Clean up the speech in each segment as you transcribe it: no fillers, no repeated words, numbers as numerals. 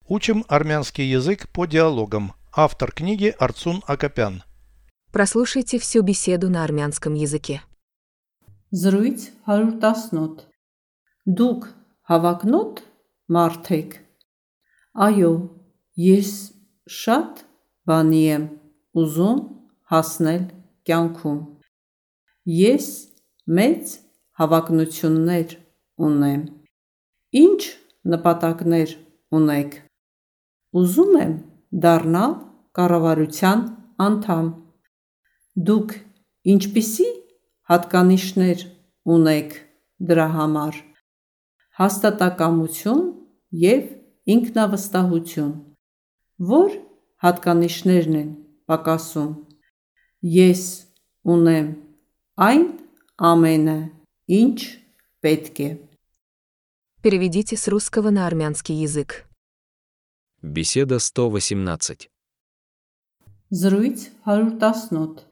Учим армянский язык по диалогам. Автор книги Арцун Акопян. Прослушайте всю беседу на армянском языке. Զրույց 118 Դուք հավակնոտ մարդ եք։ Այո, ես շատ բանի եմ ուզում հասնել կյանքում։ Ես մեծ հավակնություններ ունեմ։ Ինչ նպատակներ ունեք։ Ուզում եմ դառնալ կառավարության անդամ։ Դուք ինչպիսի հատկանիշներ ունեք դրա համար։ Հաստատակամություն և ինքնավստահություն։ Որ հատկանիշներն են պակասում։ Ես ունեմ այն ամենը, ինչ պետք է։ Переведите с русского на армянский язык. Беседа 118. Զրույց 118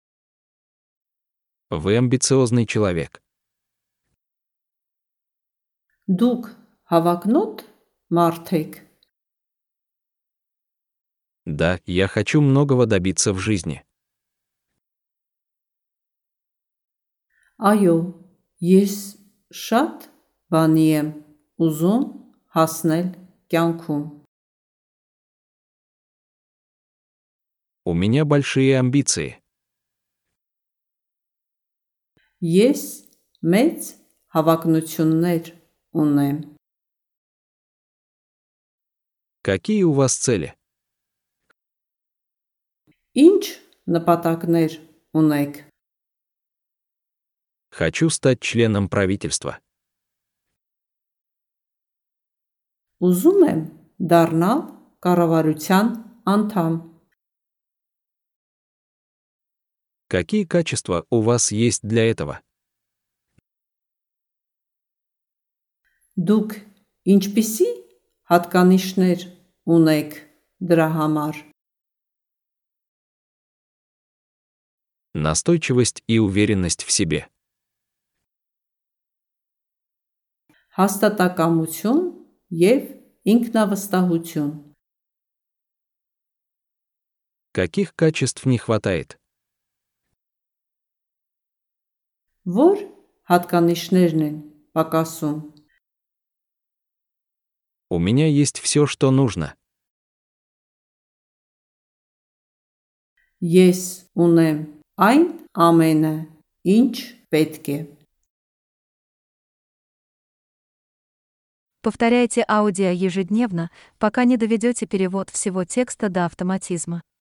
Вы амбициозный человек. Դուք հավակնոտ մարդ եք։ Да, я хочу многого добиться в жизни. Այո, ես շատ բանի եմ ուզում հասնել կյանքում։ У меня большие амбиции. Ես մեծ հավակնություններ ունեմ։ Какие у вас цели? Ինչ նպատակներ ունեք։ Хочу стать членом правительства. Ուզում եմ դառնալ կառավարության անդամ։ Какие качества у вас есть для этого? Դուք ինչպիսի հատկանիշներ ունեք դրա համար։ Настойчивость и уверенность в себе. Հաստատակամություն և ինքնավստահություն։ Каких качеств не хватает? Որ հատկանիշներն են պակասում։ У меня есть все, что нужно. Ես ունեմ այն ամենը, ինչ պետք է։ Повторяйте аудио ежедневно, пока не доведете перевод всего текста до автоматизма.